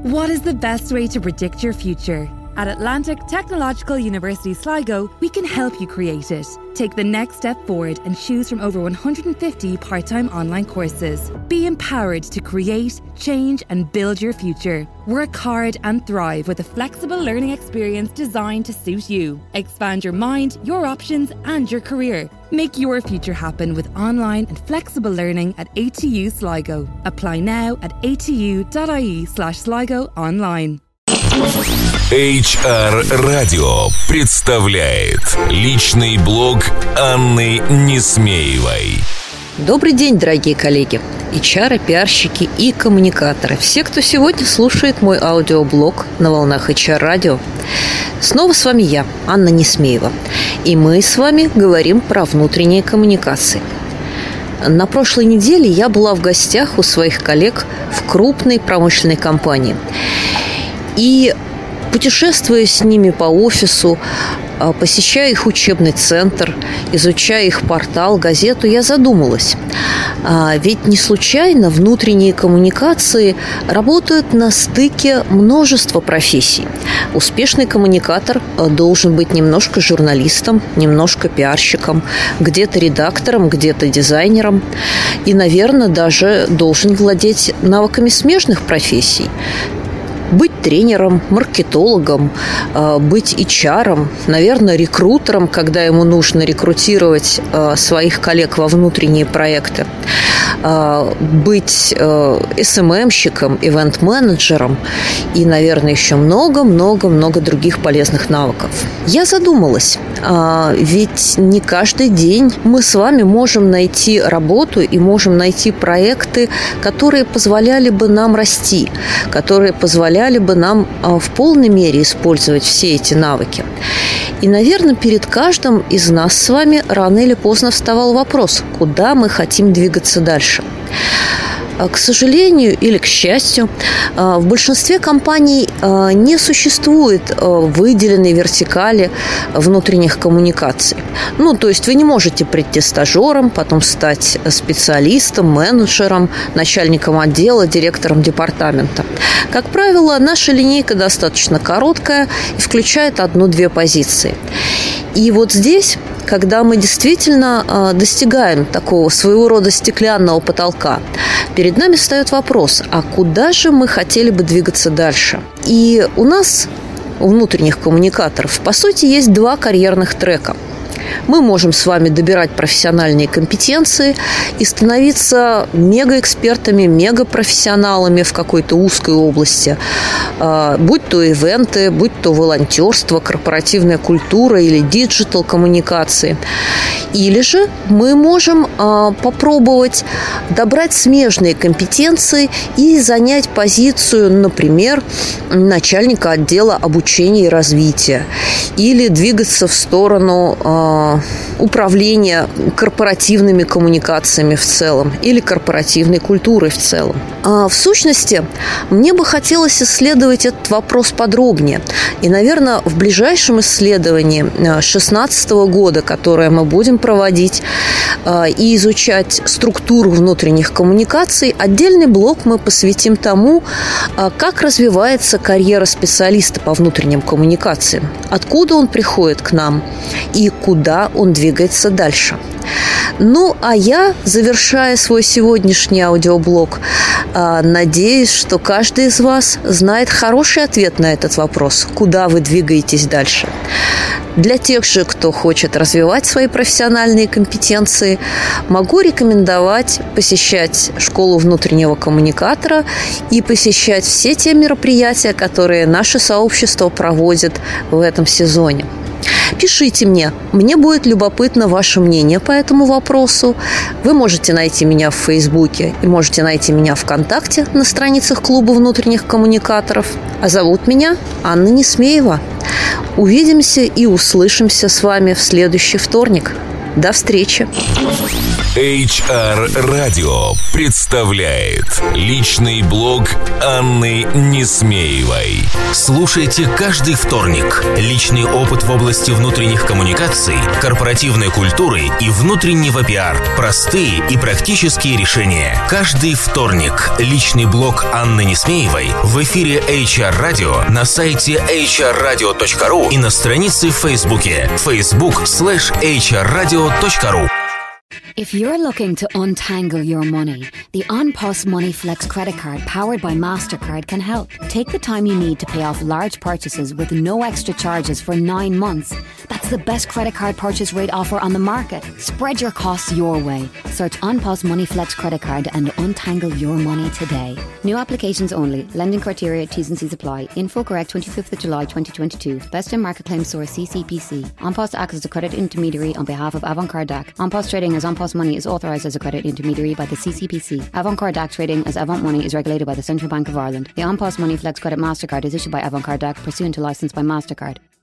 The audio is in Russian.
What is the best way to predict your future? At Atlantic Technological University Sligo, we can help you create it. Take the next step forward and choose from over 150 part-time online courses. Be empowered to create, change and build your future. Work hard and thrive with a flexible learning experience designed to suit you. Expand your mind, your options and your career. Make your future happen with online and flexible learning at ATU Sligo. Apply now at atu.ie/Sligo online. HR Radio представляет личный блог Анны Несмеевой. Добрый день, дорогие коллеги, HR, пиарщики и коммуникаторы. Все, кто сегодня слушает мой аудиоблог на волнах HR Radio. Снова с вами я, Анна Несмеева. И мы с вами говорим про внутренние коммуникации. На прошлой неделе я была в гостях у своих коллег в крупной промышленной компании. И путешествуя с ними по офису, посещая их учебный центр, изучая их портал, газету, я задумалась. Ведь не случайно внутренние коммуникации работают на стыке множества профессий. Успешный коммуникатор должен быть немножко журналистом, немножко пиарщиком, где-то редактором, где-то дизайнером. И, наверное, даже должен владеть навыками смежных профессий. Быть тренером, маркетологом, быть HR, наверное, рекрутером, когда ему нужно рекрутировать своих коллег во внутренние проекты, быть SMM-щиком, ивент-менеджером и, наверное, еще много-много-много других полезных навыков. Я задумалась, ведь не каждый день мы с вами можем найти работу и можем найти проекты, которые позволяли бы нам расти, которые позволяли бы нам в полной мере использовать все эти навыки. И, наверное, перед каждым из нас с вами рано или поздно вставал вопрос, куда мы хотим двигаться дальше. К сожалению или к счастью, в большинстве компаний не существует выделенной вертикали внутренних коммуникаций. То есть вы не можете прийти стажером, потом стать специалистом, менеджером, начальником отдела, директором департамента. Как правило, наша линейка достаточно короткая и включает 1-2 позиции. И вот здесь, когда мы действительно достигаем такого своего рода стеклянного потолка, перед нами встает вопрос, а куда же мы хотели бы двигаться дальше? И у нас, у внутренних коммуникаторов, по сути, есть 2 карьерных трека. Мы можем с вами добирать профессиональные компетенции и становиться мегаэкспертами, мегапрофессионалами в какой-то узкой области, будь то ивенты, будь то волонтерство, корпоративная культура или диджитал-коммуникации. Или же мы можем попробовать добрать смежные компетенции и занять позицию, например, начальника отдела обучения и развития, или двигаться в сторону управления корпоративными коммуникациями в целом или корпоративной культурой в целом. В сущности, мне бы хотелось исследовать этот вопрос подробнее. И, наверное, в ближайшем исследовании 2016 года, которое мы будем проводить и изучать структуру внутренних коммуникаций, отдельный блок мы посвятим тому, как развивается карьера специалиста по внутренним коммуникациям, откуда он приходит к нам и куда он двигается дальше. А я, завершая свой сегодняшний аудиоблог, надеюсь, что каждый из вас знает хороший ответ на этот вопрос, куда вы двигаетесь дальше. Для тех же, кто хочет развивать свои профессиональные компетенции, могу рекомендовать посещать школу внутреннего коммуникатора и посещать все те мероприятия, которые наше сообщество проводит в этом сезоне. Пишите мне будет любопытно ваше мнение по этому вопросу. Вы можете найти меня в Фейсбуке и можете найти меня ВКонтакте на страницах клуба внутренних коммуникаторов. А зовут меня Анна Несмеева. Увидимся и услышимся с вами в следующий вторник. До встречи! HR Radio представляет личный блог Анны Несмеевой. Слушайте каждый вторник. Личный опыт в области внутренних коммуникаций, корпоративной культуры и внутреннего пиар. Простые и практические решения. Каждый вторник. Личный блог Анны Несмеевой в эфире HR Radio, на сайте hrradio.ru и на странице в Фейсбуке facebook.com/hrradio.ru. If you're looking to untangle your money, the OnPos Money Flex credit card powered by MasterCard can help. Take the time you need to pay off large purchases with no extra charges for 9 months. That's the best credit card purchase rate offer on the market. Spread your costs your way. Search OnPos Money Flex credit card and untangle your money today. New applications only. Lending criteria, T's and C's apply. Info correct 25th of July 2022. Best in market claim source CCPC. OnPos acts as a credit intermediary on behalf of Avantcard DAC. OnPos trading as OnPos Money is authorised as a credit intermediary by the CCPC. Avantcard DAC trading as Avant Money is regulated by the Central Bank of Ireland. The OnPos Money Flex Credit MasterCard is issued by Avantcard DAC pursuant to licence by MasterCard.